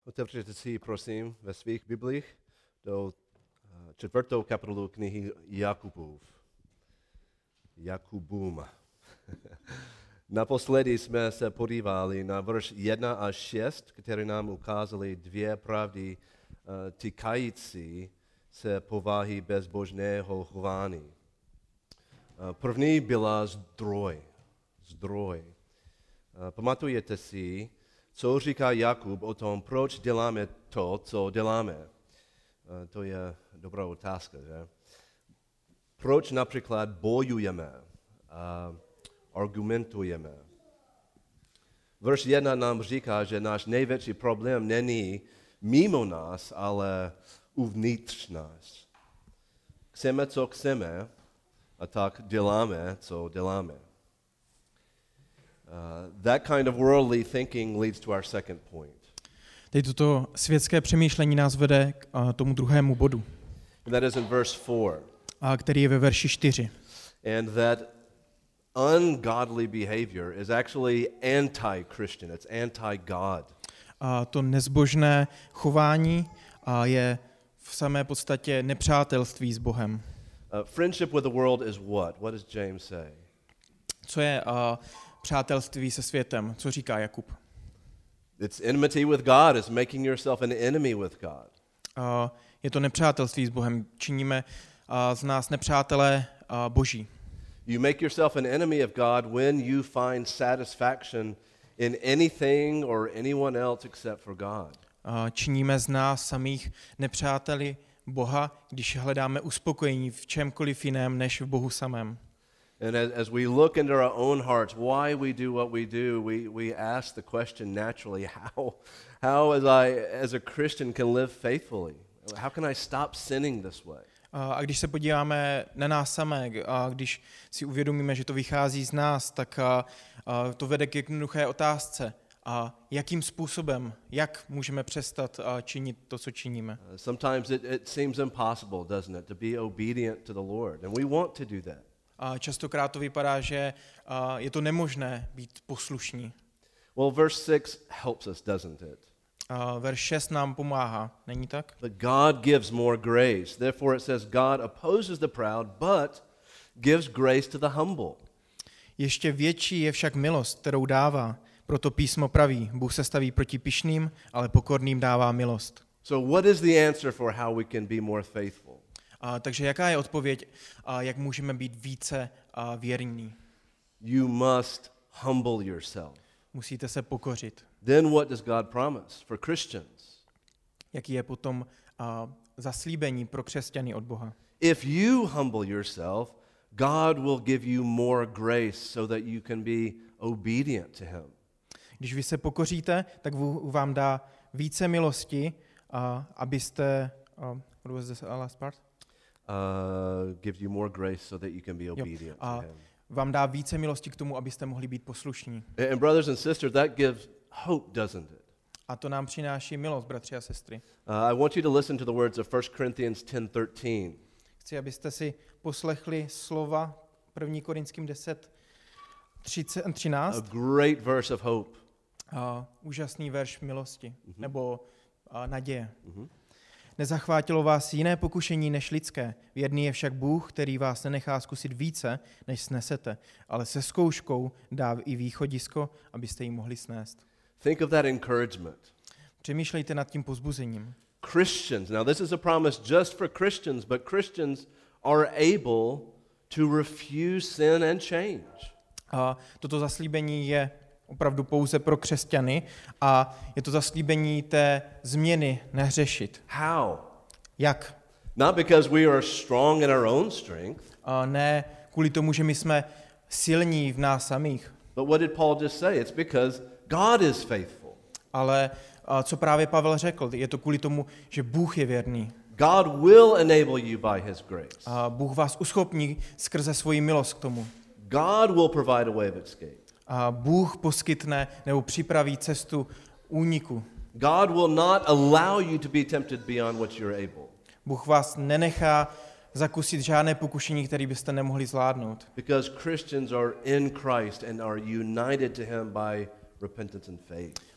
Otevřete si, prosím, ve svých biblích do 4. kapitolu knihy Jakubům. Naposledy jsme se podívali na verš 1 až 6, které nám ukázaly dvě pravdy týkající se povahy bezbožného chování. První byla zdroj. Pamatujete si, co říká Jakub o tom, proč děláme to, co děláme? To je dobrá otázka, že? Proč například bojujeme, argumentujeme? Verš 1 nám říká, že náš největší problém není mimo nás, ale uvnitř nás. Chceme, co chceme, a tak děláme, co děláme. That kind of worldly thinking leads to our second point. Teď toto světské přemýšlení nás vede k tomu druhému bodu, And that is in verse 4. Který je ve verši 4. And that ungodly behavior is actually anti-Christian. It's anti-God. A to nezbožné chování je v samé podstatě nepřátelství s Bohem. Friendship with the world is what? What does James say? Co je přátelství se světem? Co říká Jakub? It's enmity with God. It's making yourself an enemy with God. Je to nepřátelství s Bohem. Činíme z nás nepřátelé Boží. You make yourself an enemy of God when you find satisfaction in anything or anyone else except for God. Činíme z nás samých nepřáteli Boha, když hledáme uspokojení v čemkoliv jiném než v Bohu samém. And as we look into our own hearts, why we do what we do, we ask the question naturally, how as a Christian can live faithfully? How can I stop sinning this way? A když se podíváme na nás samé, a když si uvědomíme, že to vychází z nás, tak to vede k jednoduché otázce. A jakým způsobem, jak můžeme přestat činit to, co činíme? Sometimes it seems impossible, doesn't it, to be obedient to the Lord, and we want to do that. A častokrát to vypadá, že je to nemožné být poslušní. Well, verse 6 helps us, doesn't it? Verš 6 nám pomáhá, není tak? But God gives more grace. Therefore it says God opposes the proud, but gives grace to the humble. Ještě větší je však milost, kterou dává. Proto písmo praví, Bůh se staví proti pyšným, ale pokorným dává milost. So what is the answer for how we can be more faithful? Takže jaká je odpověď, jak můžeme být více věrní? You must humble yourself. Musíte se pokořit. Then what does God promise for Christians? Jaký je potom zaslíbení pro křesťany od Boha? If you humble yourself, God will give you more grace so that you can be obedient to him. Když vy se pokoříte, tak vám dá více milosti, abyste what was the last part? Give you more grace so that you can be obedient to him. Vám dá více milosti k tomu, abyste mohli být poslušní. And brothers and sisters, that gives hope, doesn't it? A to nám přináší milost, bratři a sestry. I want you to listen to the words of 1 Corinthians 10:13. Chci, abyste si poslechli slova 1. Korinským 10:13. A great verse of hope. Úžasný verš milosti, nebo naděje. Nezachvátilo vás jiné pokušení než lidské. Věrný je však Bůh, který vás nenechá zkusit více, než snesete, ale se zkouškou dá i východisko, abyste ji mohli snést. Think of that encouragement. Přemýšlejte nad tím povzbuzením. Christians, now this is a promise just for Christians, but Christians are able to refuse sin and change. A toto zaslíbení je opravdu pouze pro křesťany a je to zaslíbení té změny nehřešit. How? Jak? Not because we are strong in our own strength. Ne kvůli tomu, že my jsme silní v nás samých. But what did Paul just say? It's because God is faithful. Ale co právě Pavel řekl, je to kvůli tomu, že Bůh je věrný. God will enable you by his grace. Bůh vás uschopní skrze svoji milost k tomu. God will provide a way of escape. Bůh poskytne nebo připraví cestu úniku. God will not allow you to be tempted beyond what you're able. Bůh vás nenechá zakusit žádné pokušení, které byste nemohli zvládnout. Because Christians are in Christ and are united to him by repentance and faith.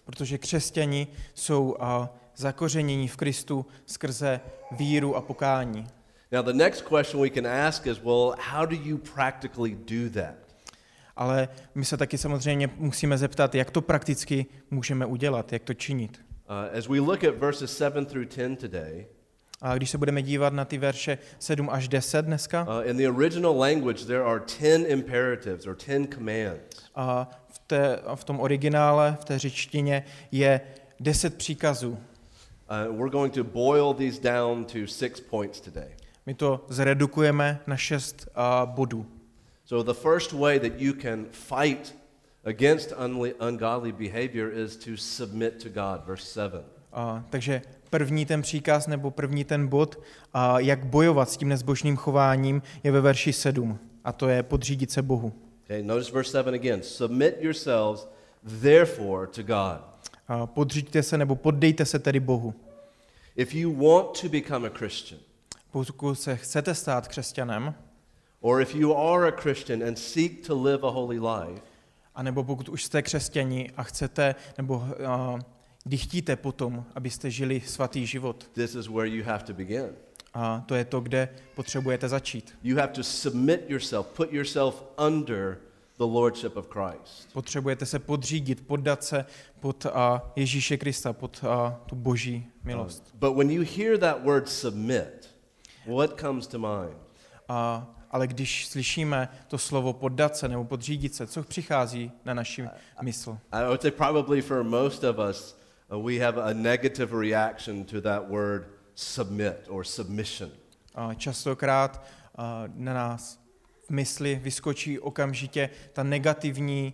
protože křesťani jsou zakořenění v Kristu skrze víru a pokání. Now the next question we can ask is, well, how do you practically do that? Ale my se taky samozřejmě musíme zeptat, jak to prakticky můžeme udělat, jak to činit. As we look at verses 7 through 10 today, A když se budeme dívat na ty verše 7 až 10 dneska, in the original language there are 10 imperatives or 10 commands. a v tom originále, v té řečtině je 10 příkazů. We're going to boil these down to 6 points today. My to zredukujeme na 6 bodů. So the first way that you can fight against ungodly behavior is to submit to God, verse 7. Takže první ten příkaz nebo první ten bod, jak bojovat s tím nezbožným chováním, je ve verši 7. A to je podřídit se Bohu. Okay, notice verse 7 again. Submit yourselves therefore to God. Podříďte se nebo poddejte se tedy Bohu. If you want to become a Christian, Pokud se chcete stát křesťanem, or if you are a Christian and seek to live a holy life, a nebo pokud už jste křesťani a chcete, nebo chtíte potom, abyste žili svatý život, this is where you have to begin. a to je to, kde potřebujete začít. You have to submit yourself, put yourself under the lordship of Christ. Potřebujete se podřídit, poddat se pod Ježíše Krista, pod tu boží milost. But when you hear that word submit, what comes to mind? Ale když slyšíme to slovo poddat se nebo podřídit se, co přichází na naši mysl? I would say probably for most of us, we have a negative reaction to that word submit or submission. Častokrát na nás v mysli vyskočí okamžitě ta negativní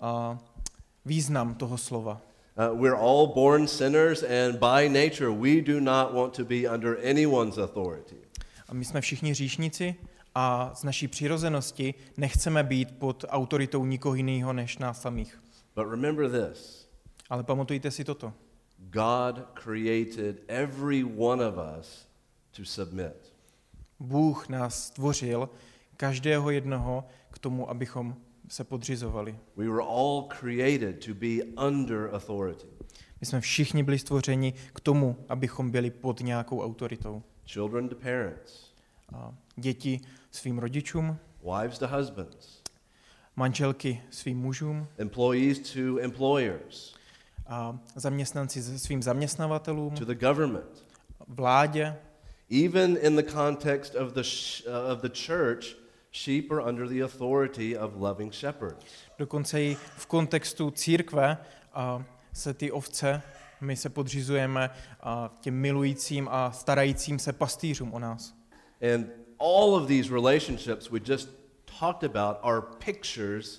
význam toho slova. We're all born sinners, and by nature we do not want to be under anyone's authority. A my jsme všichni hříšníci a z naší přirozenosti nechceme být pod autoritou nikoho jiného než nás samých. But remember this. Ale pamatujte si toto. God created every one of us to submit. Bůh nás stvořil, každého jednoho, k tomu, abychom se podřizovali. We were all created to be under authority. My jsme všichni byli stvořeni k tomu, abychom byli pod nějakou autoritou. Children to parents. Děti svým rodičům, Wives to husbands. manželky svým mužům, Employees to employers. Zaměstnanci svým zaměstnavatelům, To the government. vládě. Even in the context of the church, sheep are under the authority of loving shepherds. Dokonce i v kontextu církve se ty ovce, my se podřizujeme těm milujícím a starajícím se pastýřům o nás. And all of these relationships we just talked about are pictures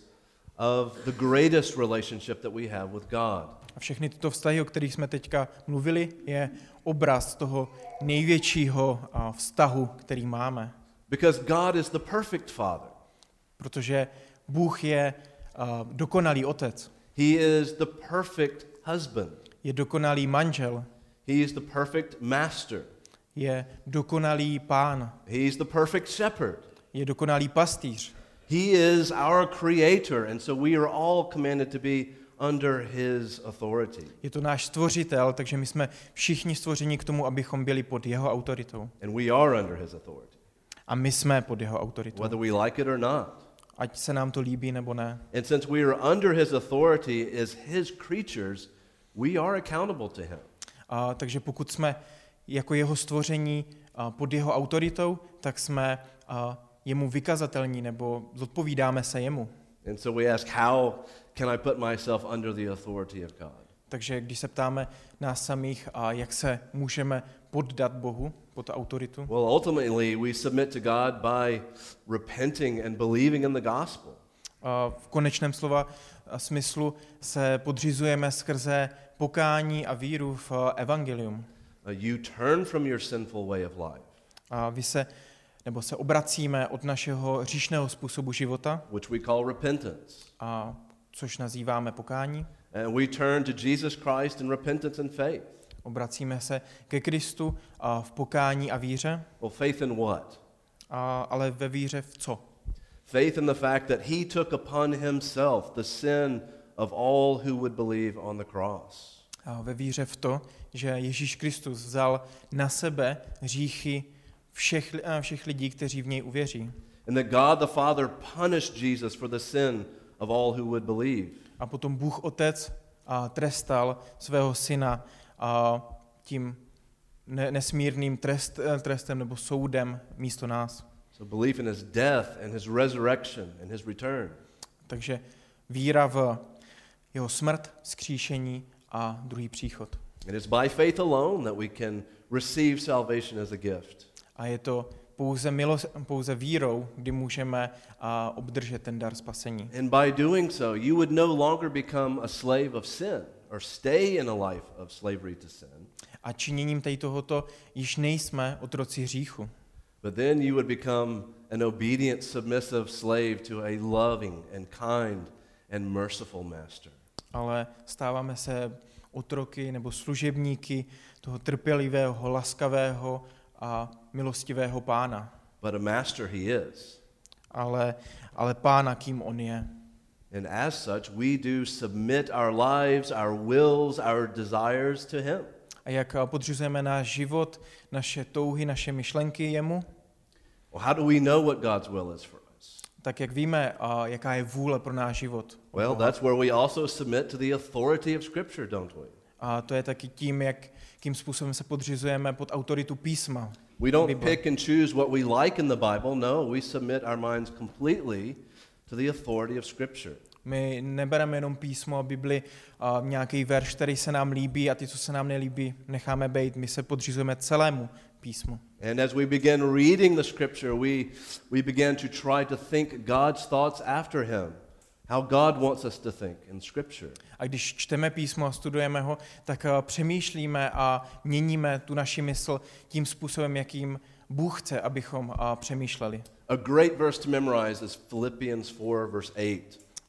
of the greatest relationship that we have with God. A všechny tyto vztahy, o kterých jsme teďka mluvili, je obraz toho největšího vztahu, který máme. Because God is the perfect Father. Protože Bůh je dokonalý otec. He is the perfect husband. Je dokonalý manžel. He is the perfect master. Je dokonalý pán. He is the perfect shepherd. Je dokonalý pastýř. He is our creator, and so we are all commanded to be under his authority. Je to náš stvořitel, takže my jsme všichni stvořeni k tomu, abychom byli pod jeho autoritou. And we are under his authority, A my jsme pod jeho autoritou. whether we like it or not. Ať se nám to líbí nebo ne. And since we are under his authority as his creatures, we are accountable to him. Takže pokud jsme jako jeho stvoření pod jeho autoritou, tak jsme jemu vykazatelní nebo zodpovídáme se jemu. And so we ask, how can I put myself under the authority of God? Takže když se ptáme nás samých, jak se můžeme poddat Bohu, pod autoritu, Well, ultimately, we submit to God by repenting and believing in the gospel. v konečném slova smyslu se podřizujeme skrze pokání a víru v evangelium. You turn from your sinful way of life, A se obracíme od našeho hříšného způsobu života, which we call repentance. Což nazýváme pokání. And we turn to Jesus Christ in repentance and faith. Obracíme se ke Kristu v pokání a víře. Well, faith in what? Ale ve víře v co? Faith in the fact that he took upon himself the sin of all who would believe on the cross. A ve víře v to, že Ježíš Kristus vzal na sebe hříchy všech lidí, kteří v něj uvěří. And that God the Father punished Jesus for the sin of all who would believe. A potom Bůh Otec trestal svého syna tím nesmírným trestem nebo soudem místo nás. So belief in his death and his resurrection and his return. Takže víra v jeho smrt, vzkříšení a druhý příchod. It is by faith alone that we can receive salvation as a gift. A je to pouze vírou, kdy můžeme obdržet ten dar spasení. And by doing so, you would no longer become a slave of sin or stay in a life of slavery to sin. A činěním tohoto již nejsme otroci hříchu. But then you would become an obedient, submissive slave to a loving and kind and merciful master. Ale stáváme se otroky nebo služebníky toho trpělivého, laskavého a milostivého pána. But a master he is. Ale pána, kým on je. And as such, we do submit our lives, our wills, our desires to him. A jak podřizujeme náš život, naše touhy, naše myšlenky jemu? Well, how do we know what God's will is for us? Tak jak víme, jaká je vůle pro náš život? Well, that's where we also submit to the authority of Scripture, don't we? A to je taky tím, jakým způsobem se podřizujeme pod autoritu písma. We don't pick and choose what we like in the Bible. No, we submit our minds completely to the authority of Scripture. My nebereme jenom písmo a Bibli, nějaký verš, který se nám líbí a ty, co se nám nelíbí, necháme bejt. My se podřizujeme celému písmu. And as we begin reading the Scripture, we begin to try to think God's thoughts after him. How God wants us to think in Scripture. A když čteme písmo a studujeme ho, tak přemýšlíme a měníme tu naši mysl tím způsobem, jakým Bůh chce, abychom přemýšleli. A great verse to memorize is Philippians 4, verse 8.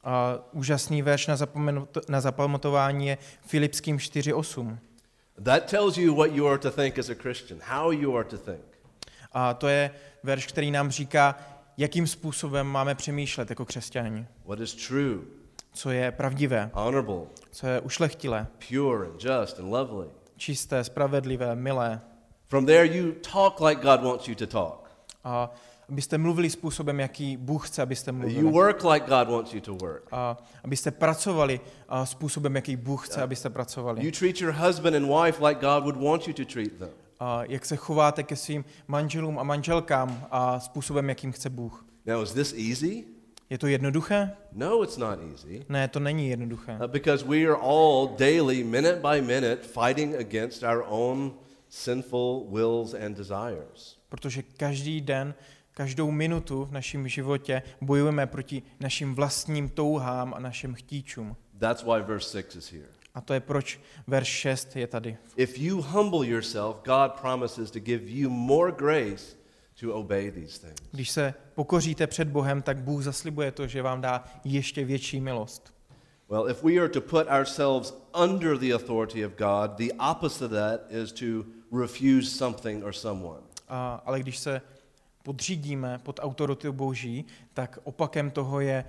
Úžasný verš na zapamatování je Filipským 4:8. That tells you what you are to think as a Christian, how you are to think. A to je verš, který nám říká, jakým způsobem máme přemýšlet jako křesťani. What is true, Co je pravdivé, honorable, co je ušlechtilé, pure and just and lovely. čisté, spravedlivé, milé. From there you talk like God wants you to talk. A abyste mluvili způsobem, jaký Bůh chce, abyste You mluvili. work like God wants you to work. A abyste pracovali způsobem, jaký Bůh chce, abyste pracovali. You treat your husband and wife like God would want you to treat them. A jak se chováte ke svým manželům a manželkám a způsobem, jakým chce Bůh. Now, is this easy? Je to jednoduché? No, it's not easy. Ne, to není jednoduché. Because we are all daily, minute by minute, fighting against our own sinful wills and desires. Protože každý den, každou minutu v našem životě bojujeme proti našim vlastním touhám a našim chtíčům. That's why verse 6 is here. A to je proč verš 6 je tady. If you humble yourself, God promises to give you more grace to obey these things. Když se pokoříte před Bohem, tak Bůh zaslibuje to, že vám dá ještě větší milost. Well, if we are to put ourselves under the authority of God, the opposite of that is to refuse something or someone. Ale když se podřídíme pod autoritu Boží, tak opakem toho je,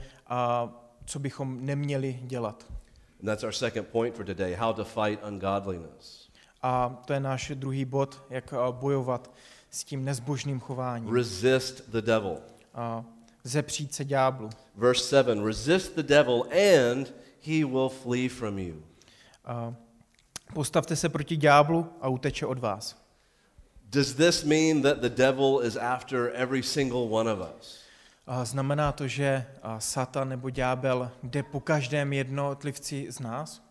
co bychom neměli dělat. And that's our second point for today, how to fight ungodliness. A to je náš druhý bod, jak bojovat s tím nezbožným chováním. Resist the devil. Zepřít se ďáblu. Verse 7, resist the devil and he will flee from you. Postavte se proti ďáblu a uteče od vás. Does this mean that the devil is after every single one of us? Znamená to, že Satan nebo ďábel jde po každém jednotlivci z nás?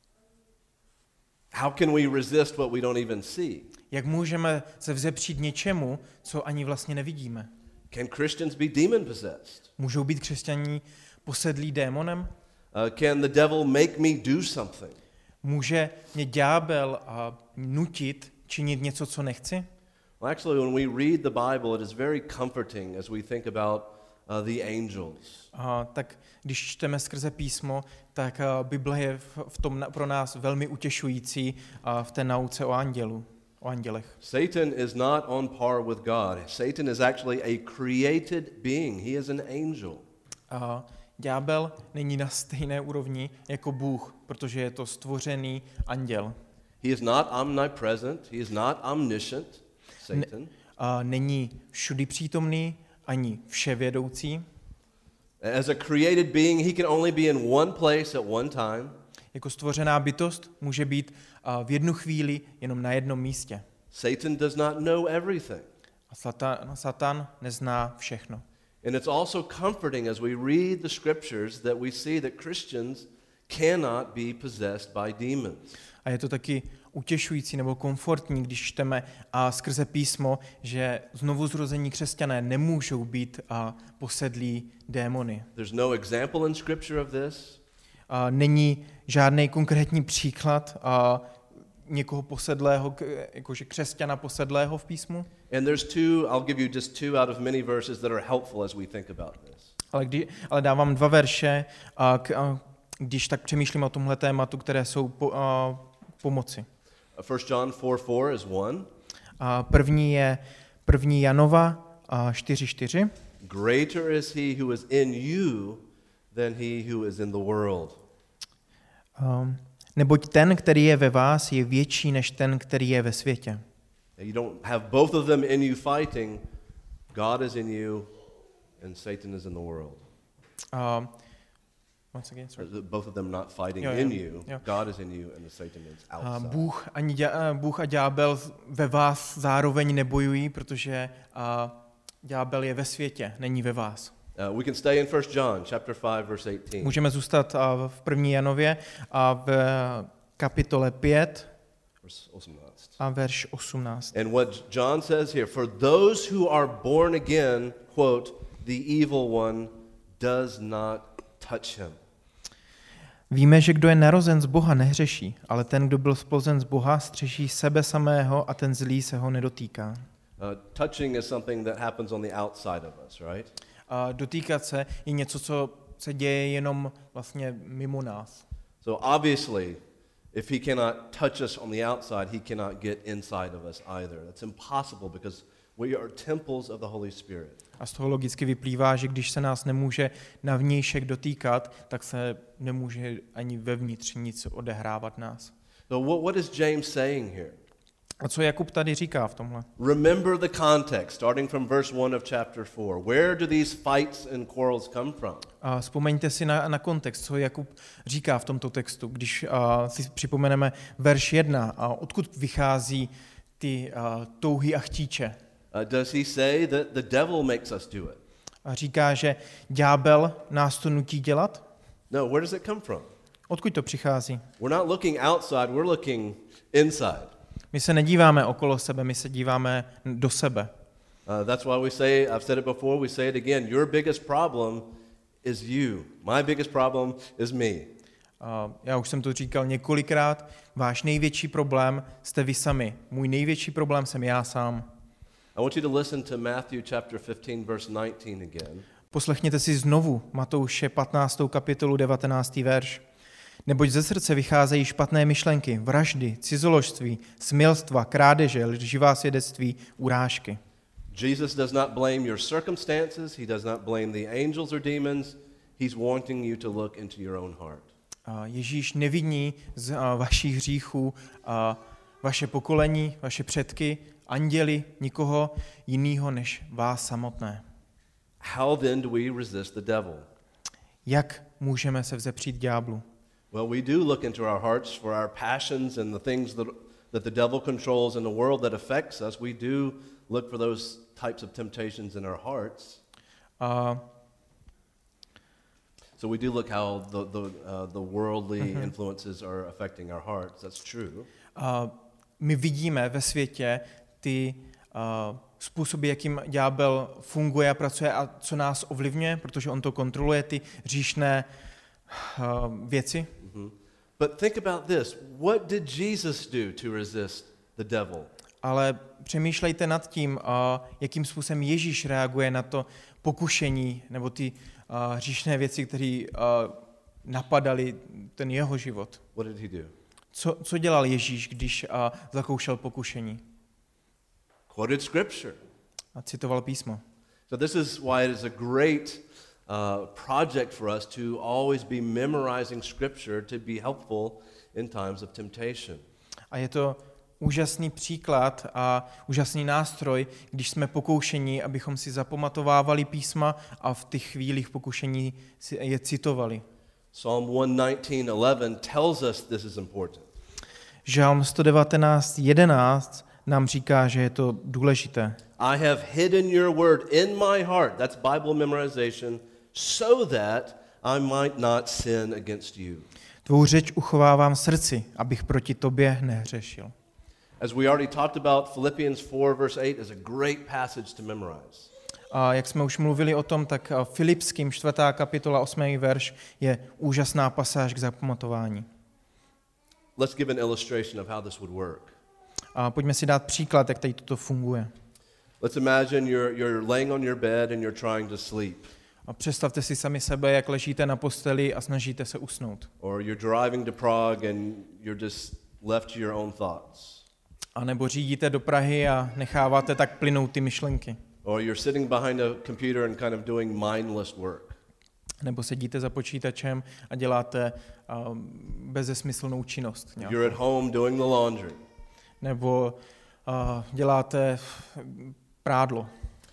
How can we resist what we don't even see? Jak můžeme se vzepřít něčemu, co ani vlastně nevidíme? Can Christians be demon possessed? Můžou být křesťaní posedlí démonem? Can the devil make me do something? Může mě ďábel nutit činit něco, co nechci? Well, actually, when we read the Bible, it is very comforting as we think about the angels. Tak když čteme skrze písmo, tak Bible je v tom pro nás velmi utěšující v té nauce o andělech. Satan is not on par with God. Satan is actually a created being. He is an angel. ďábel není na stejné úrovni jako Bůh, protože je to stvořený anděl. He is not omnipresent. He is not omniscient, Satan. Není všudy přítomný, ani vševědoucí. As a created being, he can only be in one place at one time. Jako stvořená bytost může být v jednu chvíli jenom na jednom místě. Satan does not know everything. A Satan nezná všechno. And it's also comforting as we read the scriptures that we see that Christians cannot be possessed by demons. A je to taky utěšující nebo komfortní, když čteme skrze písmo, že znovuzrození křesťané nemůžou být posedlí démony. There's no example in scripture of this. Není žádný konkrétní příklad někoho posedlého, jakože křesťana posedlého v písmu. And I'll give you just two out of many verses that are helpful as we think about this. Ale dávám 2 verše, když tak přemýšlím o tomhle tématu, které jsou pomoci. 1 John 4:4 is one. První je 1. Janova 4:4. Greater is he who is in you than he who is in the world. Neboť ten, který je ve vás, je větší než ten, který je ve světě. You don't have both of them in you fighting. God is in you and Satan is in the world. Once again, sorry. Both of them not fighting in you. God is in you and Satan is outside. Bůh a ďábel ve vás zároveň nebojují, protože ďábel je ve světě, není ve vás. We can stay in 1 John chapter 5 verse 18. Můžeme zůstat v 1. Janově a v kapitole 5 a verš 18. And what John says here, for those who are born again, quote, the evil one does not touch him. Víme, že kdo je narozen z Boha, nehřeší, ale ten, kdo byl splozen z Boha, střeží sebe samého a ten zlý se ho nedotýká. Touching is something that happens on the outside of us, right? Dotýkat se je něco, co se děje jenom vlastně mimo nás. So obviously, if he cannot touch us on the outside, he cannot get inside of us either. That's impossible because we are temples of the Holy Spirit. A z toho logicky vyplývá, že když se nás nemůže na vnějšek dotýkat, tak se nemůže ani vevnitř nic odehrávat nás. So what is James saying here? A co Jakub tady říká v tomhle? Remember the context, starting from verse 1 of chapter 4. Where do these fights and quarrels come from? A vzpomeňte si na kontext, co Jakub říká v tomto textu, když si připomeneme verš 1, a odkud vychází ty touhy a chtíče. Does he say that the devil makes us do it? A říká, že ďábel nás to nutí dělat? No, where does it come from? Odkud to přichází? We're not looking outside, we're looking inside. My se nedíváme okolo sebe, my se díváme do sebe. That's why we say, I've said it before, we say it again, your biggest problem is you. My biggest problem is me. Já už jsem to říkal několikrát, váš největší problém jste vy sami. Můj největší problém jsem já sám. I want you to listen to Matthew chapter 15 verse 19 again. Poslechněte si znovu Matouše 15. kapitolu 19. verš. Neboť ze srdce vycházejí špatné myšlenky, vraždy, cizoložství, smilstva, krádeže, lživá svědectví, urážky. Jesus does not blame your circumstances, he does not blame the angels or demons. He's wanting you to look into your own heart. Ježíš neviní z vašich hříchů vaše pokolení, vaše předky, anděli, nikoho jiného než vás samotné. How then do we resist the devil? Jak můžeme se vzepřít ďáblu? Well, we do look into our hearts for our passions and the things that the devil controls in the world that affects us. We do look for those types of temptations in our hearts. So we do look how the worldly influences are affecting our hearts. That's true. My vidíme ve světě ty způsoby, jakým ďábel funguje a pracuje a co nás ovlivňuje, protože on to kontroluje, ty hříšné věci. But think about this. What did Jesus do to resist the devil? Ale přemýšlejte nad tím, jakým způsobem Ježíš reaguje na to pokušení nebo ty hříšné věci, které napadaly ten jeho život. What did he do? Co dělal Ježíš, když zakoušel pokušení? Quoted scripture. A citoval písmo. So this is why it is a great project for us to always be memorizing Scripture to be helpful in times of temptation. A je to úžasný příklad a úžasný nástroj, když jsme pokoušení, abychom si zapamatovávali písma a v těch chvílích pokušení si je citovali. Psalm 119:11 tells us this is important. Žalm 119:11 nám říká, že je to důležité. I have hidden your word in my heart. That's Bible memorization, so that I might not sin against you. Tvou řeč uchovávám v srdci, abych proti tobě nehřešil. As we already talked about, Philippians 4 verse 8 is a great passage to memorize. A jak jsme už mluvili o tom, tak Filipským 4. kapitola 8. verš je úžasná pasáž k zapamatování. Let's give an illustration of how this would work. A pojďme si dát příklad, jak tady toto funguje. Let's imagine you're laying on your bed and you're trying to sleep. A představte si sami sebe, jak ležíte na posteli a snažíte se usnout. Or you're driving to Prague and you're just left to your own thoughts. A nebo řídíte do Prahy a necháváte tak plynout ty myšlenky. Or you're sitting behind a computer and kind of doing mindless work. Nebo sedíte za počítačem a děláte bezesmyslnou činnost. You're at home doing the laundry. Nebo děláte prádlo.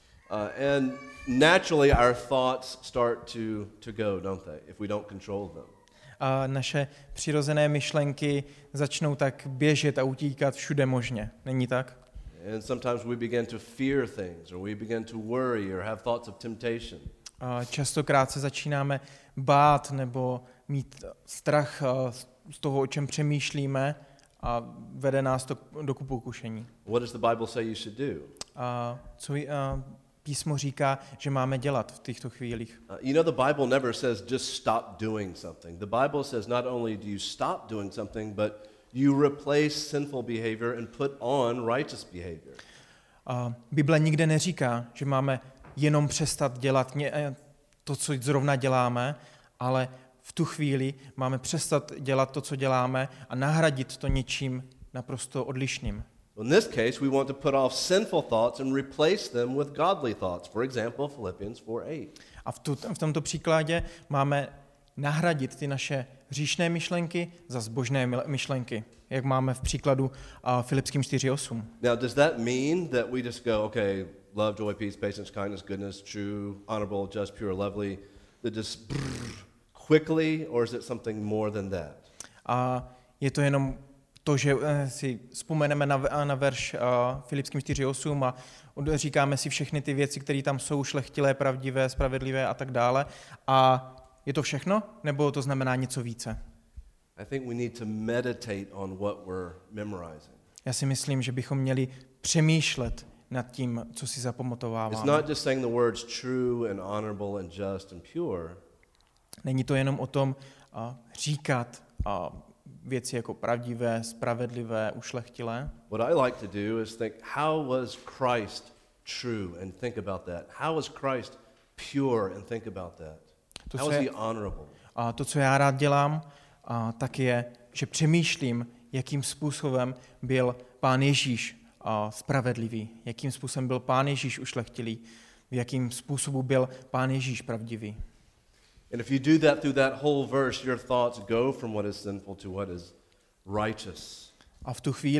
And naturally our thoughts start to go, don't they, if we don't control them. A naše přirozené myšlenky začnou tak běžet a utíkat všude možně. Není tak? And sometimes we begin to fear things, or we begin to worry, or have thoughts of temptation. A častokrát se začínáme bát nebo mít strach z toho, o čem přemýšlíme, a vede nás to do pokušení. What does the Bible say you should do? Co písmo říká, že máme dělat v těchto chvílích? You know, the Bible never says just stop doing something. The Bible says not only do you stop doing something, but you replace sinful behavior and put on righteous behavior. Bible nikde neříká, že máme jenom přestat dělat to, co zrovna děláme, ale v tu chvíli máme přestat dělat to, co děláme, a nahradit to něčím naprosto odlišným. In this case, we want to put off sinful thoughts and replace them with godly thoughts. For example, Philippians 4:8. A v tomto příkladě máme nahradit ty naše hříšné myšlenky za zbožné myšlenky, jak máme v příkladu Filipským 4:8. Now, does that mean that we just go, okay, love, joy, peace, patience, kindness, goodness, true, honorable, just, pure, lovely, that just quickly, or is it something more than that? A je to jenom to, že si vzpomeneme na verš Filipským 4:8 a říkáme si všechny ty věci, které tam jsou, šlechtilé, pravdivé, spravedlivé a tak dále. A je to všechno, nebo to znamená něco více? I think we need to meditate on what we're memorizing. Já si myslím, že bychom měli přemýšlet nad tím, co si zapamatováváme. It's not just saying the words true and honorable and just and pure. Není to jenom o tom říkat věci jako pravdivé, spravedlivé, ušlechtilé. What I like to do is think, how was Christ true, and think about that. How was Christ pure, and think about that. How was he honorable? A to, co já rád dělám, tak je, že přemýšlím, jakým způsobem byl Pán Ježíš spravedlivý, jakým způsobem byl Pán Ježíš ušlechtilý, jakým způsobem byl Pán Ježíš pravdivý. And if you do that through that whole verse, your thoughts go from what is sinful to what is righteous. A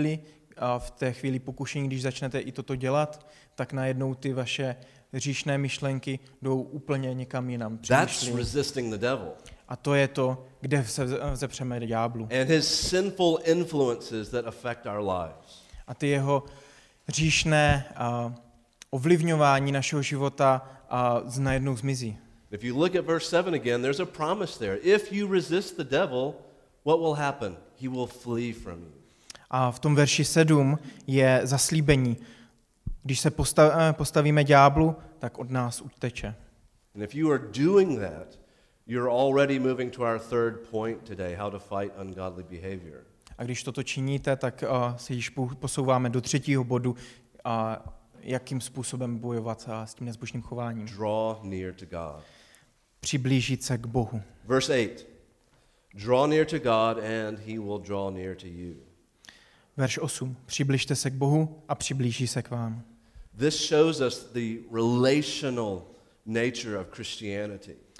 v té chvíli pokušení, když začnete i toto dělat, tak najednou ty vaše hříšné myšlenky jdou úplně někam jinam. That's resisting the devil. A to je to, kde se vzepřeme ďáblu. And his sinful influences that affect our lives. A ty jeho hříšné ovlivňování našeho života najednou zmizí. If you look at verse 7 again, there's a promise there. If you resist the devil, what will happen? He will flee from you. A v tom verši 7 je zaslíbení. Když se postavíme ďáblu, tak od nás uteče. And if you are doing that, you're already moving to our third point today, how to fight ungodly behavior. A když toto činíte, tak se již posouváme do třetího bodu, jakým způsobem bojovat s tím nezbožným chováním. Draw near to God. Přiblížit se k Bohu. Verse 8. Draw near to God and he will draw near to you. Verš 8. Přibližte se k Bohu a přiblíží se k vám. This shows us the relational nature of Christianity.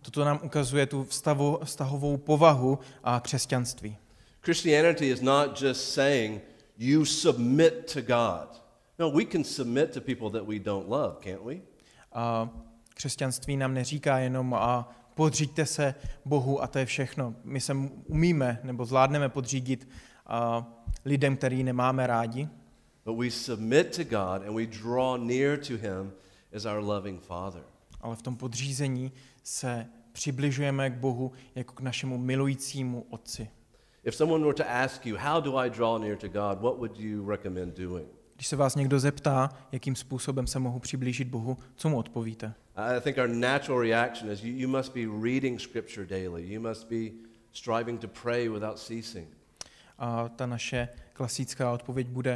Toto nám ukazuje tu vztahovou povahu a křesťanství. Christianity is not just saying you submit to God. No, we can submit to people that we don't love, can't we? A křesťanství nám neříká jenom podříďte se Bohu a to je všechno. My se umíme nebo zvládneme podřídit lidem, který nemáme rádi. But we submit to God and we draw near to him as our loving Father. Ale v tom podřízení se přibližujeme k Bohu jako k našemu milujícímu Otci. If someone were to ask you, how do I draw near to God, what would you recommend doing? Když se vás někdo zeptá, jakým způsobem se mohu přiblížit Bohu, co mu odpovíte? I think our natural reaction is you must be reading scripture daily. You must be striving to pray without ceasing. A ta naše klasická odpověď bude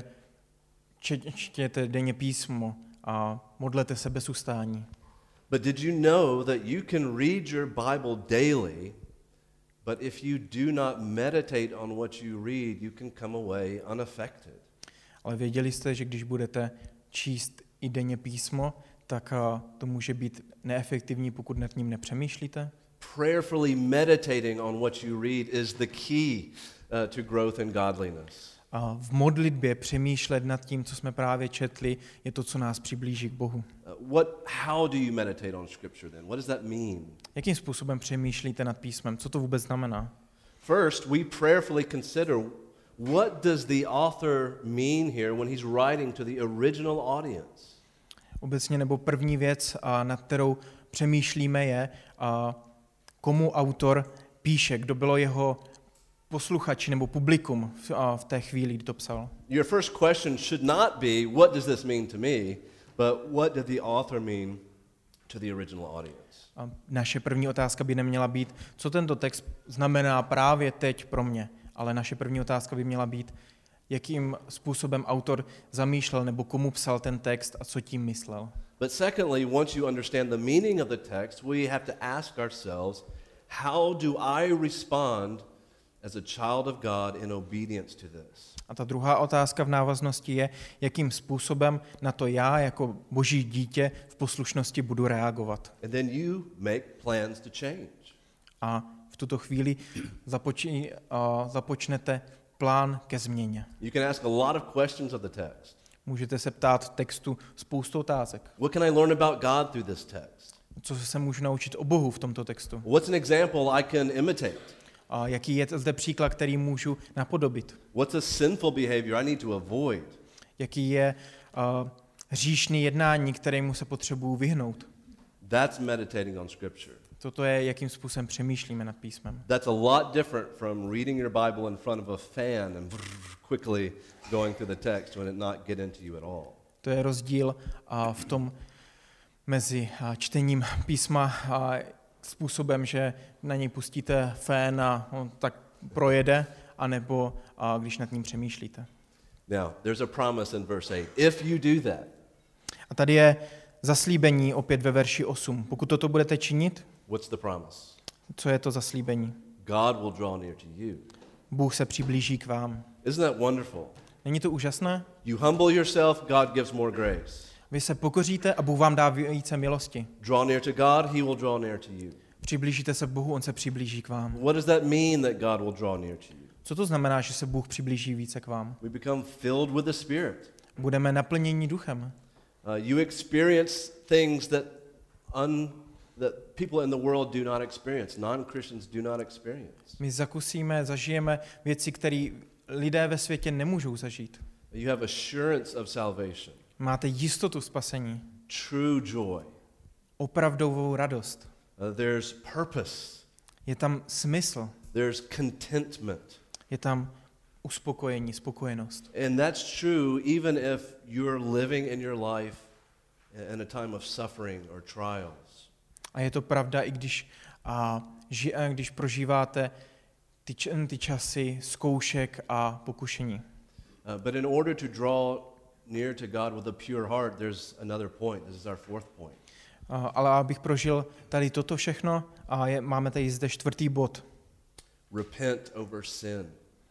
čtěte denně písmo a modlete se bez ustání. But did you know that you can read your Bible daily, but if you do not meditate on what you read, you can come away unaffected? Ale věděli jste, že když budete číst i denně písmo, tak to může být neefektivní, pokud nad ním nepřemýšlíte? Prayerfully meditating on what you read is the key to growth in godliness. A v modlitbě přemýšlet nad tím, co jsme právě četli, je to, co nás přiblíží k Bohu. How do you meditate on scripture then? What does that mean? Jakým způsobem přemýšlíte nad písmem? Co to vůbec znamená? First, we prayerfully consider what does the author mean here when he's writing to the original audience. Obecně nebo první věc, nad kterou přemýšlíme, je, komu autor píše, kdo bylo jeho posluchači nebo publikum v té chvíli, kdy to psal. Your first question should not be, what does this mean to me, but what did the author mean to the original audience? A naše první otázka by neměla být, co tento text znamená právě teď pro mě, ale naše první otázka by měla být, jakým způsobem autor zamýšlel nebo komu psal ten text a co tím myslel. But secondly, once you understand the meaning of the text, we have to ask ourselves, how do I respond as a child of God in obedience to this? A ta druhá otázka v návaznosti je, jakým způsobem na to já jako Boží dítě v poslušnosti budu reagovat. And then you make plans to change. A v tuto chvíli započnete plán ke změně. You can ask a lot of questions of the text. Můžete se ptát v textu spoustu otázek. What can I learn about God through this text? Co se můžu naučit o Bohu v tomto textu? What's an example I can imitate? A jaký je zde příklad, který můžu napodobit? What's a sinful behavior I need to avoid? Jaký je hříšný jednání, kterému se potřebuju vyhnout? That's meditating on scripture. Toto je, jakým způsobem přemýšlíme nad písmem. That's a lot different from reading your Bible in front of a fan and quickly going through the text when it not get into you at all. To je rozdíl v tom mezi čtením písma a způsobem, že na něj pustíte fén a on tak projede, anebo když nad ním přemýšlíte. Now, there's a promise in verse 8. If you do that. A tady je zaslíbení opět ve verši 8. Pokud toto budete činit, what's the promise? Co je to zaslíbení? God will draw near to you. Bůh se přiblíží k vám. Isn't that wonderful? Není to úžasné? You humble yourself, God gives more grace. Vy se pokoříte a Bůh vám dá více milosti. Draw near to God, he will draw near to you. Přiblížíte se k Bohu, on se přiblíží k vám. What does that mean that God will draw near to you? Co to znamená, že se Bůh přiblíží více k vám? We become filled with the Spirit. Budeme naplněni duchem. You experience things that people in the world do not experience. Non-Christians do not experience. My zažijeme věci, které lidé ve světě nemůžou zažít. You have assurance of salvation. Máte jistotu spasení. True joy. Opravdovou radost. There's purpose. Je tam smysl. There's contentment. Je tam uspokojení, spokojenost. And that's true even if you're living in your life in a time of suffering or trials. A je to pravda, i když prožíváte ty časy zkoušek a pokušení. But in order to draw near to God with a pure heart, there's another point. This is our fourth point. Ale abych prožil tady toto všechno, máme tady zde čtvrtý bod. Repent over sin.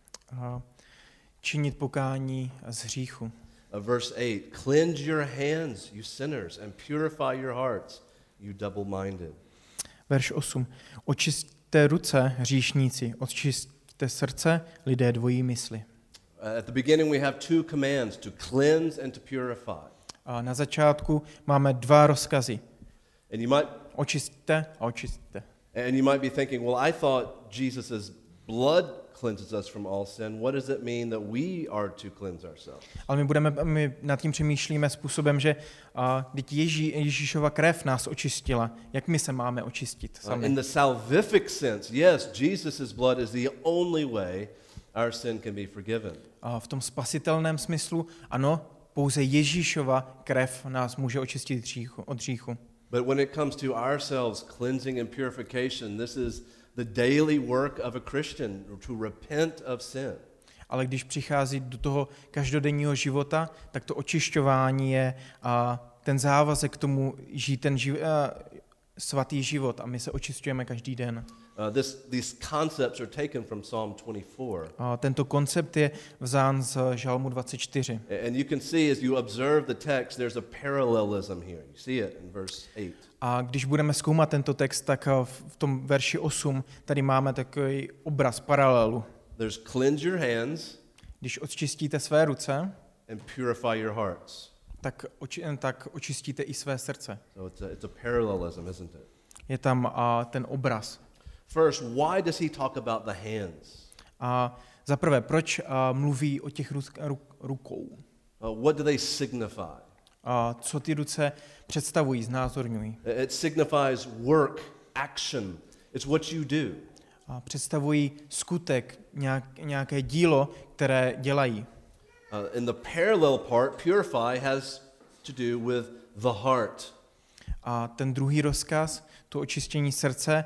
Činit pokání z hříchu. Verse 8, cleanse your hands, you sinners, and purify your hearts, you double-minded. Verš 8. Očisťte ruce, hříšníci, očisťte srdce, lidé dvojí mysli. At the beginning we have two commands, to cleanse and to purify. A na začátku máme dva rozkazy. And you might Očisťte a očisťte. And you might be thinking, well, I thought Jesus' blood cleanses us from all sin. What does it mean that we are to cleanse ourselves? Ale my nad tím přemýšlíme způsobem, že vždyť Ježíšova krev nás očistila. Jak my se máme očistit sami? In the salvific sense, yes, Jesus' blood is the only way our sin can be forgiven. A v tom spasitelném smyslu, ano, pouze Ježíšova krev nás může očistit od hříchu. But when it comes to ourselves, cleansing and purification, this is the daily work of a Christian, to repent of sin. Ale když přichází do toho každodenního života, tak to očišťování je ten závazek k tomu žít ten svatý život a my se očišťujeme každý den. These concepts are taken from Psalm 24. A tento koncept je vzán z Žalmu 24. And you can see as you observe the text, there's a parallelism here. You see it in verse 8. A když budeme zkoumat tento text, tak v tom verši 8 tady máme takový obraz paralelu. There's cleanse your hands, když očistíte své ruce, and purify your hearts. Tak očistíte i své srdce. So it's a parallelism, isn't it? Je tam ten obraz. First, why does he talk about the hands? A za prvé, proč mluví o těch rukou? What do they signify? Co ty ruce představují, znázorňují? It signifies work, action. It's what you do. Představují skutek, nějaké dílo, které dělají. In the parallel part, purify has to do with the heart. A ten druhý rozkaz, to očištění srdce,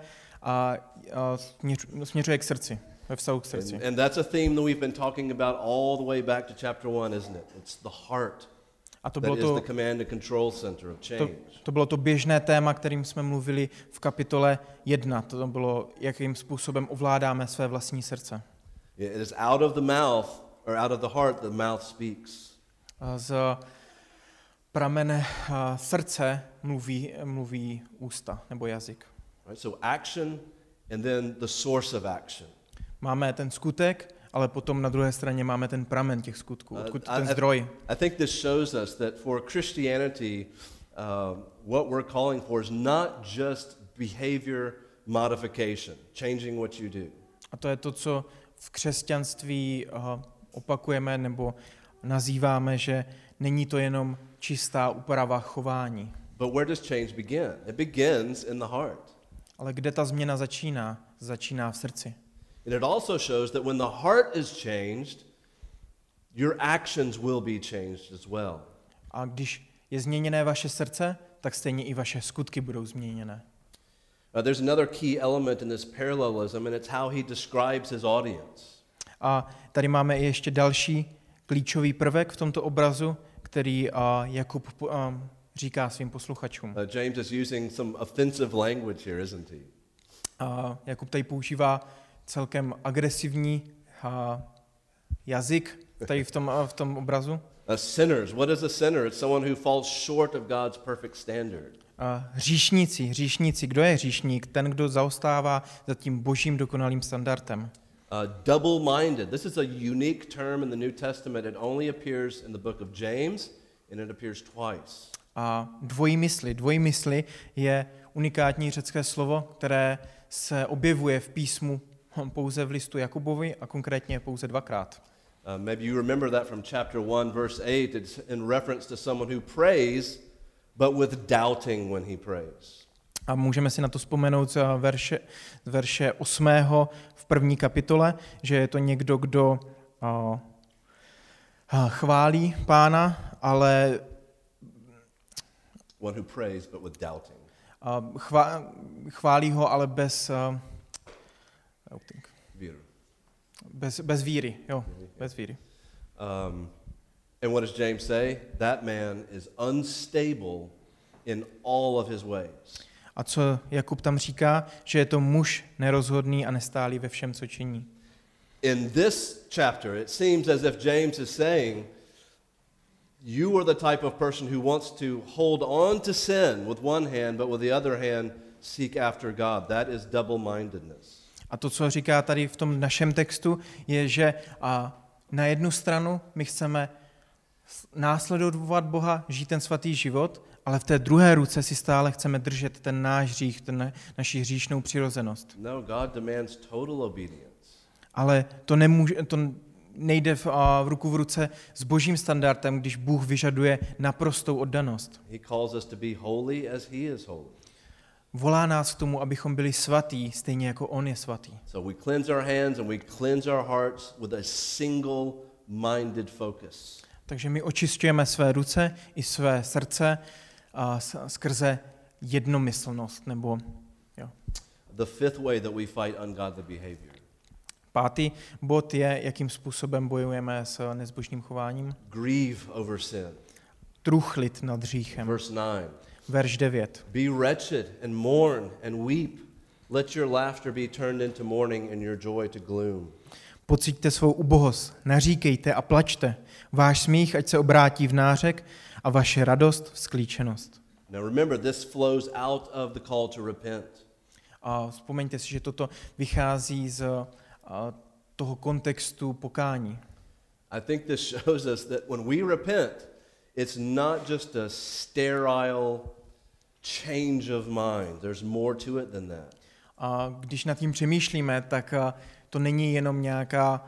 směřuje k srdci, ve vztahu k srdci. And that's a theme that we've been talking about all the way back to chapter 1, isn't it? It's the heart. A to that bylo is the command and control center of change. To bylo to běžné téma, kterým jsme mluvili v kapitole 1. To bylo, jakým způsobem ovládáme své vlastní srdce. It is out of the mouth, or out of the heart, the mouth speaks. Z pramene srdce mluví ústa nebo jazyk. Right? So action and then the source of action. Máme ten skutek, ale potom na druhé straně máme ten pramen těch skutků, odkud ten zdroj. I think this shows us that for Christianity, what we're calling for is not just behavior modification, changing what you do. A to je to, co v křesťanství opakujeme nebo nazýváme, že není to jenom čistá úprava chování. But where does change begin? It begins in the heart. Ale kde ta změna začíná? Začíná v srdci. And it also shows that when the heart is changed, your actions will be changed as well. A když je změněné vaše srdce, tak stejně i vaše skutky budou změněné. There's another key element in this parallelism, and it's how he describes his audience. A tady máme i ještě další klíčový prvek v tomto obrazu, který Jakub říká svým posluchačům. James is using some offensive language here, isn't he? Jakub tady používá celkem agresivní jazyk tady v tom obrazu. Sinners. What is a sinner? It's someone who falls short of God's perfect standard. Hříšníci. Kdo je hříšník? Ten, kdo zaostává za tím božím dokonalým standardem. Double-minded. This is a unique term in the New Testament. It only appears in the book of James, and it appears twice. A dvojmysly je unikátní řecké slovo, které se objevuje v písmu pouze v listu Jakubovi a konkrétně pouze dvakrát. Maybe you remember that from chapter 1, verse 8. It's in reference to someone who prays, but with doubting when he prays. A můžeme si na to vzpomenout z verše 8. v první kapitole, že je to někdo, kdo chválí Pána, ale one who prays, but with doubting. Chválí ho, ale bez víry. Bez víry, jo, bez víry. And what does James say? That man is unstable in all of his ways. A co Jakub tam říká, že je to muž nerozhodný a nestálý ve všem, co činí. In this chapter, it seems as if James is saying, you are the type of person who wants to hold on to sin with one hand, but with the other hand seek after God. That is double-mindedness. A to, co říká tady v tom našem textu, je, že na jednu stranu my chceme následovat Boha, žít ten svatý život, ale v té druhé ruce si stále chceme držet ten náš hřích, naši hříšnou přirozenost. No, God demands total obedience. Ale to nejde v ruku v ruce s božím standardem, když Bůh vyžaduje naprostou oddanost. He calls us to be holy as he is holy. Volá nás k tomu, abychom byli svatí, stejně jako on je svatý. So we cleanse our hands and we cleanse our hearts with a single-minded focus. Takže my očišťujeme své ruce i své srdce skrze jednomyslnost. Nebo, jo. The fifth way that we fight ungodly behavior. 5. bod je, jakým způsobem bojujeme s nezbožným chováním. Grieve over sin. Truchlit nad hříchem. Verse 9. Verš 9. Be wretched and mourn and weep. Let your laughter be turned into mourning and your joy to gloom. Pociťte svou ubohost, naříkejte a plačte. Váš smích ať se obrátí v nářek a vaše radost v sklíčenost. Now remember, this flows out of the call to repent. A vzpomeňte si, že toto vychází z toho kontextu pokání. I think this shows us that when we repent, it's not just a sterile change of mind. There's more to it than that. A když nad tím přemýšlíme, tak to není jenom nějaká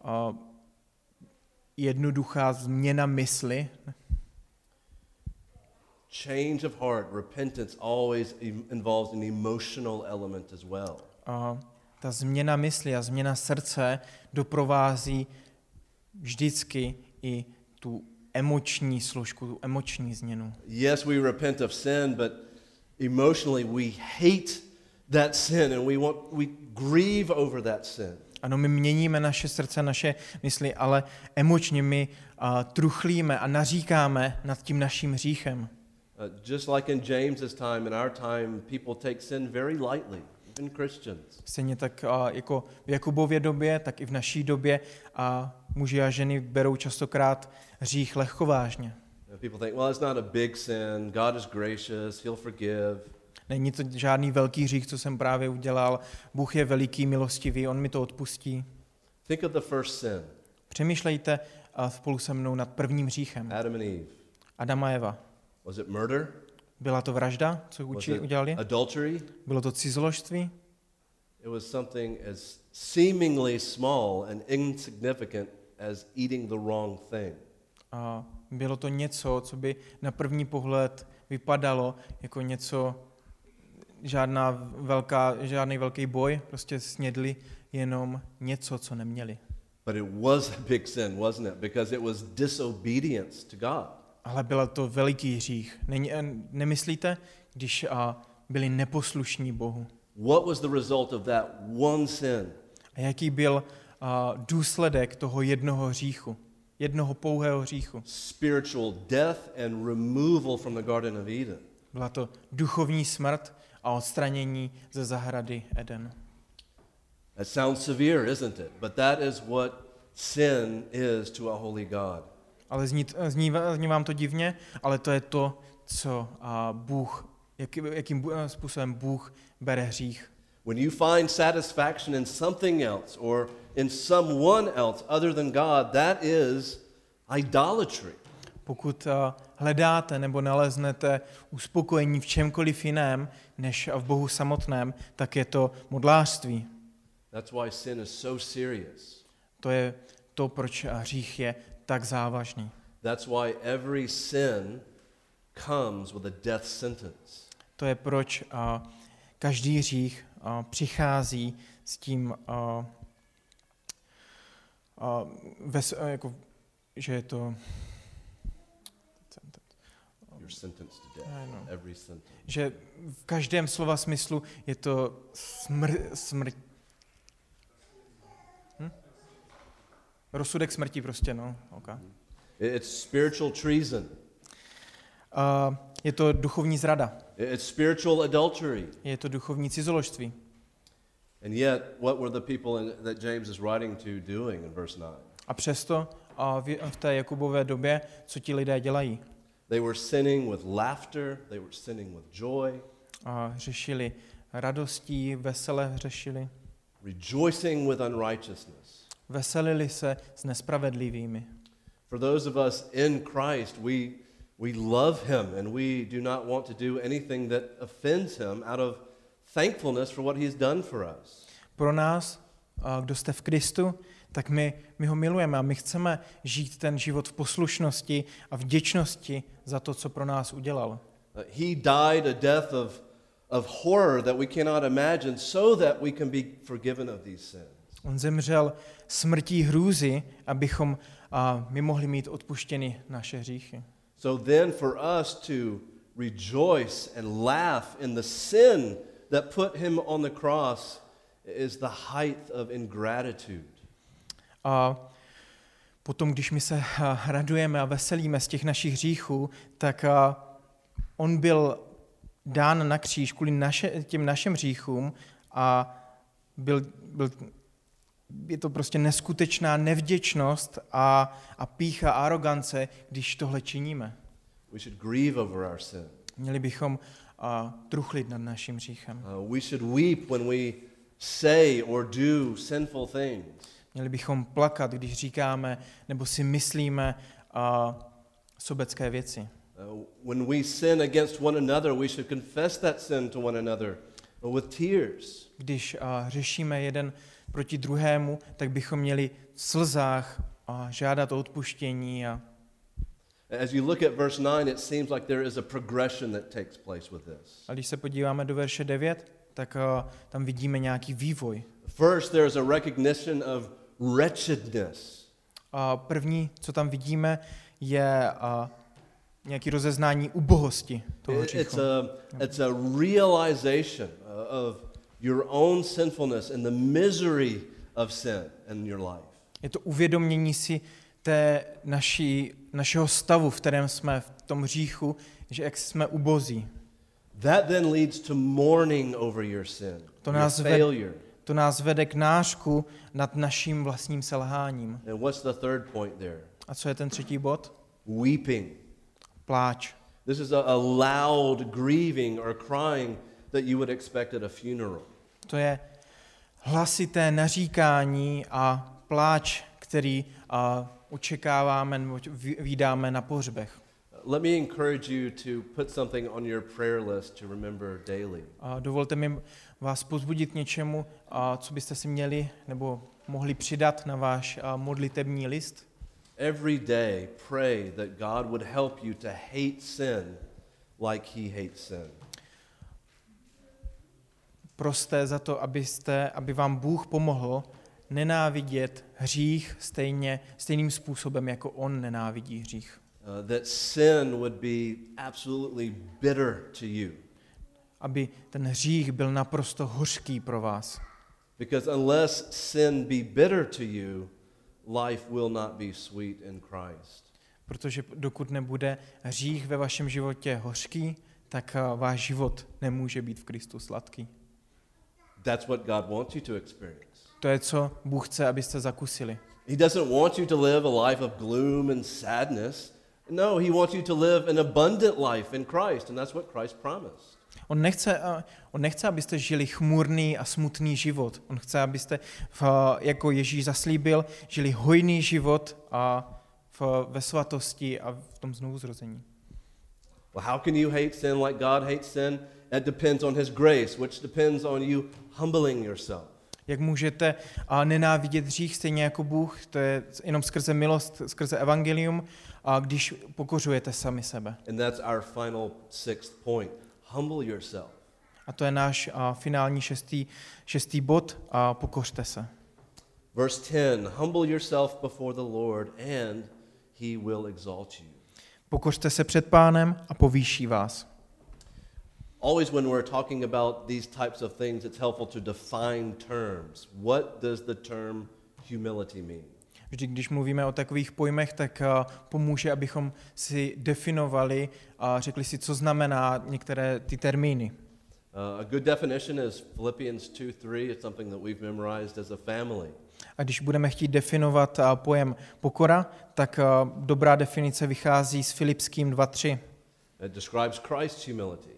jednoduchá změna mysli. Change of heart, repentance always involves an emotional element as well. Ta změna mysli a změna srdce doprovází vždycky i tu emoční složku, tu emoční změnu. Yes, we repent of sin, but emotionally we hate that sin and we grieve over that sin. Ano, my měníme naše srdce, naše mysli, ale emočně my truchlíme a naříkáme nad tím naším hříchem. Just like in James's time, in our time, people take sin very lightly, even Christians. Stejně tak jako v Jakubově době, tak i v naší době muži a ženy berou častokrát hřích lehkovážně. People think, well, it's not a big sin. God is gracious, he'll forgive. Není to žádný velký hřích, co jsem právě udělal. Bůh je veliký, milostivý, on mi to odpustí. Think of the first sin. Přemýšlejte spolu se mnou nad prvním hříchem. Adam and Eve. Adam a Eva. Was it murder? Byla to vražda, co udělali? Adultery? Bylo to cizoložství? It was something as seemingly small and insignificant as eating the wrong thing. A bylo to něco, co by na první pohled vypadalo jako něco, žádný velký boj, prostě snědli jenom něco, co neměli. But it was a big sin, wasn't it? Because it was disobedience to God. Ale byl to veliký hřích. Nemyslíte, když byli neposlušní Bohu? What was the result of that one sin? A jaký byl důsledek toho jednoho hříchu? Jednoho pouhého hříchu? Spiritual death and removal from the Garden of Eden. Byla to duchovní smrt a odstranění ze zahrady Eden. That sounds severe, isn't it? But that is what sin is to a holy God. Ale zní vám to divně, ale to je to, co Bůh, jakým způsobem Bůh bere hřích. When you find satisfaction in something else or in someone else other than God, that is idolatry. Pokud hledáte nebo naleznete uspokojení v čemkoliv jiném než v Bohu samotném, tak je to modlářství. That's why sin is so serious. To je to, proč hřích je tak závažný. That's why every sin comes with a death sentence. To je proč každý hřích přichází s tím, jako, že je to You're sentenced to death. Every sentence. Že v každém slova smyslu je to smrt. Rozsudek smrti prostě, no. Okay. It's spiritual treason. Je to duchovní zrada. It's spiritual adultery. Je to duchovní cizoložství. And yet, what were the people that James is writing to doing in verse 9? A přesto v té Jakubové době, co ti lidé dělají? They were sinning with laughter, they were sinning with joy. řešili radostí, vesele řešili. Rejoicing with unrighteousness. Veselili se s nespravedlivými. For those of us in Christ, we love him and we do not want to do anything that offends him out of thankfulness for what he's done for us. Pro nás, kdo jste v Kristu, tak my ho milujeme a my chceme žít ten život v poslušnosti a vděčnosti za to, co pro nás udělal. He died a death of horror that we cannot imagine so that we can be forgiven of these sins. On zemřel smrtí hrůzy, abychom my mohli mít odpuštěny naše hříchy. So then for us to rejoice and laugh in the sin that put him on the cross is the height of ingratitude. A potom, když my se radujeme a veselíme z těch našich hříchů, tak on byl dán na kříž kvůli těm našim hříchům a je to prostě neskutečná nevděčnost a pýcha, arogance, když tohle činíme. We should grieve over our sin. Měli bychom truchlit nad naším hříchem. We should weep when we say or do sinful things. Měli bychom plakat, když říkáme nebo si myslíme sobecké věci. When we sin against one another, we should confess that sin to one another with tears. Když řešíme jeden proti druhému, tak bychom měli v slzách žádat o odpuštění. As you look at verse 9, it seems like there is a progression that takes place with this. A když se podíváme do verše 9, tak tam vidíme nějaký vývoj. First, there is a recognition of wretchedness. První, co tam vidíme, je nějaké rozeznání ubohosti toho hříchu. It's a realization of your own sinfulness and the misery of sin in your life. Je to uvědomění si našeho stavu, v kterém jsme v tom hříchu, že jak jsme ubozí. That then leads to mourning over your sin, your failure. To nás vede k nářku nad naším vlastním selháním. And what's the third point there? A co je ten třetí bod? Weeping. Pláč. This is a loud grieving or crying that you would expect at a funeral. To je hlasité naříkání a pláč, který očekáváme nebo vídáme na pohřbech. Let me encourage you to put something on your prayer list to remember daily. Dovolte mi vás povzbudit něčemu, co byste si měli nebo mohli přidat na váš modlitební list. Every day pray that God would help you to hate sin like he hates sin. Proste za to, aby vám Bůh pomohl nenávidět hřích stejným způsobem, jako on nenávidí hřích. That sin would be absolutely bitter to you. Aby ten hřích byl naprosto hořký pro vás. Because unless sin be bitter to you, life will not be sweet in Christ. Protože dokud nebude hřích ve vašem životě hořký, tak váš život nemůže být v Kristu sladký. That's what God wants you to experience. To je, co Bůh chce, abyste zakusili. He doesn't want you to live a life of gloom and sadness. No, he wants you to live an abundant life in Christ, and that's what Christ promised. On nechce, abyste žili chmurný a smutný život. On chce, abyste, jako Ježíš zaslíbil, žili hojný život ve svatosti a v tom znovuzrození. Well, how can you hate sin like God hates sin? That depends on his grace, which depends on you humbling yourself. Jak můžete nenávidět hřích stejně jako Bůh, to je jenom skrze milost, skrze evangelium, když pokořujete sami sebe. And that's our final sixth point. Humble yourself. A to je náš finální šestý bod, pokořte se. Verse 10, humble yourself before the Lord and he will exalt you. Pokořte se před Pánem a povýší vás. Always when we're talking about these types of things, it's helpful to define terms. What does the term humility mean? Vždy, když mluvíme o takových pojmech, tak pomůže, abychom si definovali a řekli si, co znamená některé ty termíny. A good definition is Philippians 2:3. It's something that we've memorized as a family. A když budeme chtít definovat pojem pokora, tak dobrá definice vychází z Filipským 2:3. It describes Christ's humility.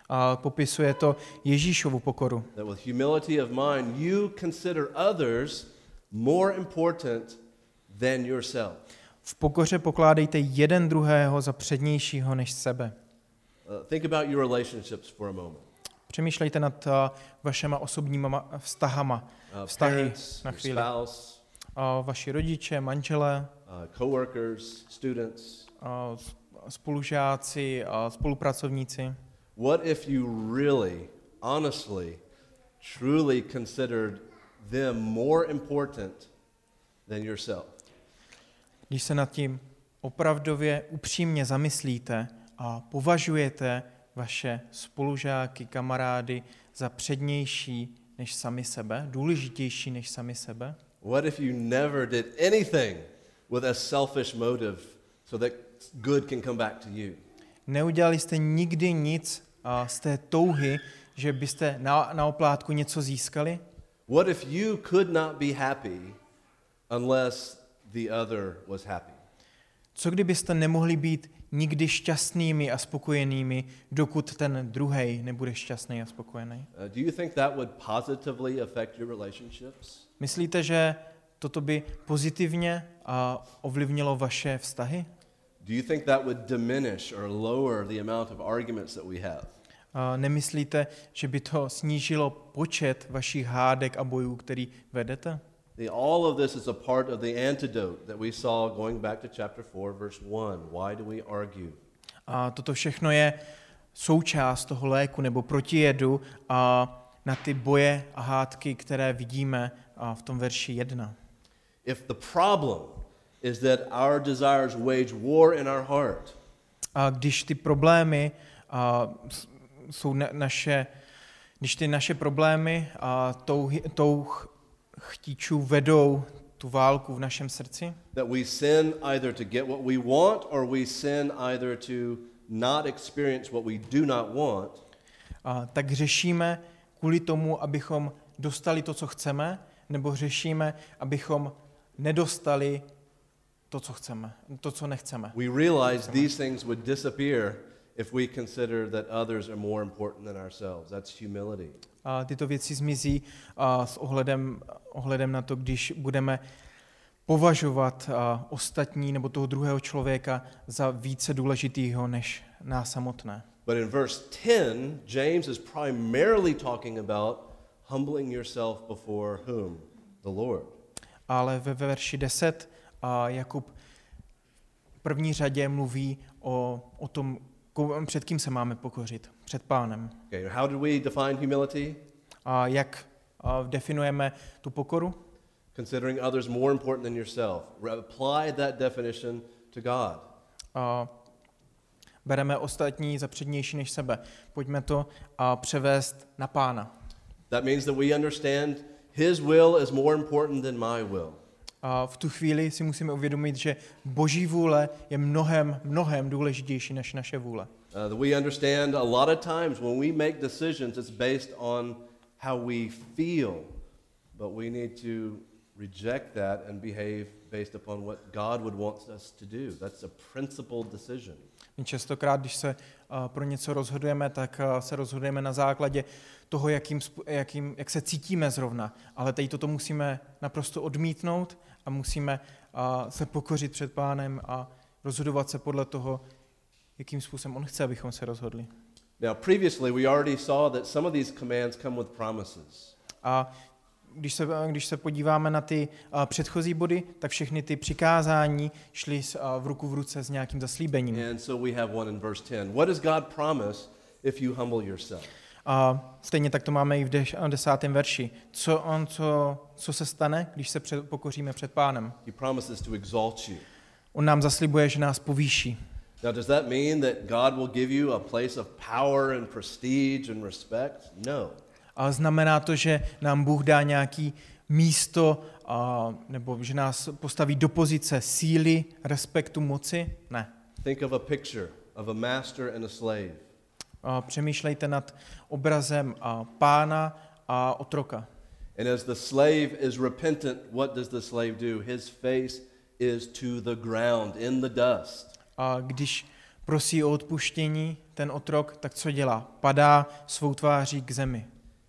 A popisuje to Ježíšovu pokoru. That with humility of mind, you consider others more important than yourself. V pokoře pokládejte jeden druhého za přednějšího než sebe. Think about your relationships for a moment. Přemýšlejte nad vašema osobníma vztahy Parents, na your chvíli. spouse, Vaši rodiče, manželé, coworkers, students. spolužáci, spolupracovníci. What if you really, honestly, truly considered them more important than yourself? Když se nad tím opravdově upřímně zamyslíte a považujete vaše spolužáky, kamarády za přednější než sami sebe, důležitější než sami sebe? What if you never did anything with a selfish motive so that good can come back to you? Neudělali jste nikdy nic z té touhy, že byste na oplátku něco získali? What if you could not be happy unless the other was happy? Co kdybyste nemohli být nikdy šťastnými a spokojenými, dokud ten druhej nebude šťastný a spokojený? Do you think that would positively affect your relationships? Myslíte, že toto by pozitivně ovlivnilo vaše vztahy? Do you think that would diminish or lower the amount of arguments that we have? Nemyslíte, že by to snížilo počet vašich hádek a bojů, který vedete? All of this is a part of the antidote that we saw going back to chapter 4, verse 1. Why do we argue? A toto všechno je součást toho léku nebo protijedu na ty boje a hádky, které vidíme v tom verši 1. If the problem is that our desires wage war in our heart, A když ty problémy když ty naše problémy a touh chtíčů vedou tu válku v našem srdci, that we sin either to get what we want or we sin either to not experience what we do not want, tak řešíme kvůli tomu, abychom dostali to, co chceme, nebo řešíme, abychom nedostali to, co chceme, to, co nechceme. we realize these things would disappear if we consider that others are more important than ourselves. That's humility. A tyto věci zmizí s ohledem na to, když budeme považovat ostatní nebo toho druhého člověka za více důležitýho než nás samotné. But in verse 10, James is primarily talking about humbling yourself before whom? The Lord. Ale ve verši 10 Jakub v první řadě mluví o tom, před kým se máme pokořit. Před Pánem. Okay, how do we define humility? A jak definujeme tu pokoru? Considering others more important than yourself. Apply that definition to God. Bereme ostatní za přednější než sebe. Pojďme to převést na Pána. That means that we understand His will is more important than my will. A v tu chvíli si musíme uvědomit, že Boží vůle je mnohem důležitější než naše vůle. We understand a lot of times when we make decisions, it's based on how we feel, but we need to reject that and behave based upon what God would want us to do. That's a principled decision. My častokrát, když se pro něco rozhodujeme, tak se rozhodujeme na základě toho, jak se cítíme zrovna. Ale tady toto musíme naprosto odmítnout a musíme se pokořit před Pánem a rozhodovat se podle toho, jakým způsobem on chce, abychom se rozhodli. Now, previously we already saw that some of these commands come with promises. A když se podíváme na ty předchozí body, tak všechny ty přikázání šly v ruku v ruce s nějakým zaslíbením. And so we have one in verse 10. What does God promise if you humble yourself? A stejně tak to máme i v 10. verši. Co se stane, když se pokoříme před Pánem? He promises to exalt you. On nám zaslibuje, že nás povýší. Now, does that mean that God will give you a place of power and prestige and respect? No. A znamená to, že nám Bůh dá nějaký místo, nebo že nás postaví do pozice síly, respektu, moci? Ne. Think of a picture of a master and a slave. Přemýšlejte nad obrazem pána a otroka. And as the slave is repentant, what does the slave do? His face is to the ground, in the dust. A když prosí o odpuštění, ten otrok, tak co dělá? Padá svou tváří k zemi.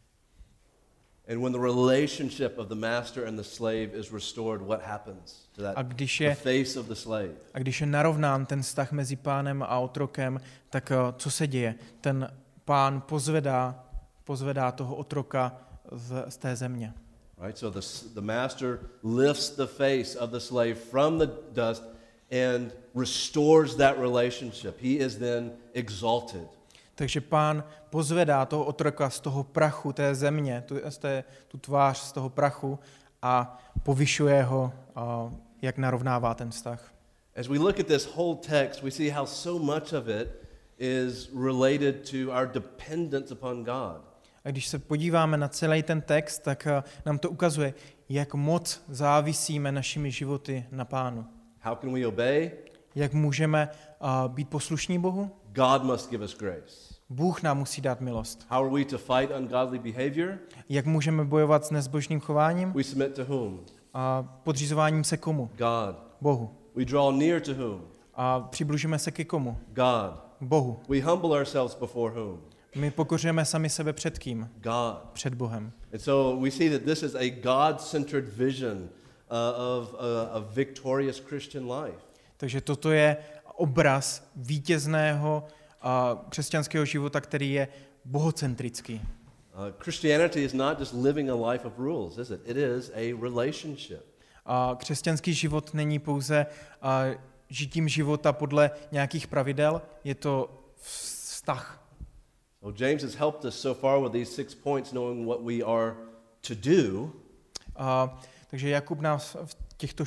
And when the relationship of the master and the slave is restored, what happens to that the face of the slave? A když je narovnán ten vztah mezi pánem a otrokem, tak co se děje? Ten pán pozvedá toho otroka z té země. Right, so the master lifts the face of the slave from the dust and restores that relationship. He is then exalted. Takže pán pozvedá toho otroka z toho prachu té země, tu tvář z toho prachu a povyšuje ho, jak narovnává ten vztah. As we look at this whole text, we see how so much of it is related to our dependence upon God. A když se podíváme na celý ten text, tak nám to ukazuje, jak moc závisíme našimi životy na Pánu. How can we obey? Jak můžeme být poslušní Bohu? God must give us grace. Bůh nám musí dát milost. How are we to fight ungodly behavior? Jak můžeme bojovat s nezbožným chováním? We submit to whom? A podřizováním se komu? God. Bohu. We draw near to whom? A přibližujeme se ke komu? God. Bohu. We humble ourselves before whom? My pokořujeme sami sebe před kým? God. Před Bohem. And so we see that this is a God-centered vision of a victorious Christian life. Takže toto je obraz vítězného křesťanského života, který je bohocentrický. Christianity is not just living a life of rules, is it? It is a relationship. Křesťanský život není pouze žitím života podle nějakých pravidel, je to vztah. So James has helped us so far with these 6 points, knowing what we are to do. Takže Jakub nás v těchto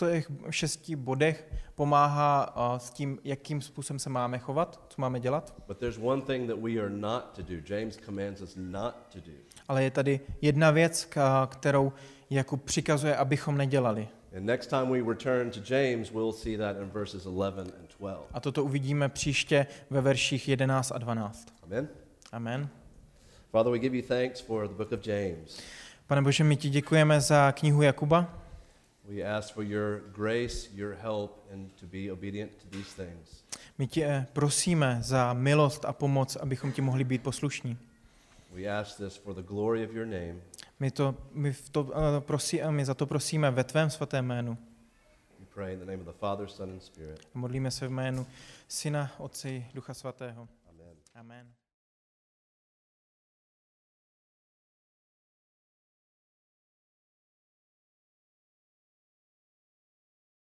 6 bodech pomáhá s tím, jakým způsobem se máme chovat, co máme dělat. But there's one thing that we are not to do. James commands us not to do. Ale je tady jedna věc, kterou Jakub přikazuje, abychom nedělali. And next time we return to James, we'll see that in verses 11 and 12. A toto uvidíme příště ve verších 11 a 12. Amen. Amen. Father, we give you thanks for the book of James. Pane Bože, my ti děkujeme za knihu Jakuba. We ask for your grace, your help, and to be obedient to these things. My tě prosíme za milost a pomoc, abychom ti mohli být poslušní. We ask this for the glory of your name. My za to prosíme ve tvém svatém jménu. We pray in the name of the Father, Son, and Spirit. Modlíme se v jménu Syna, Otce i Ducha Svatého. Amen. Amen.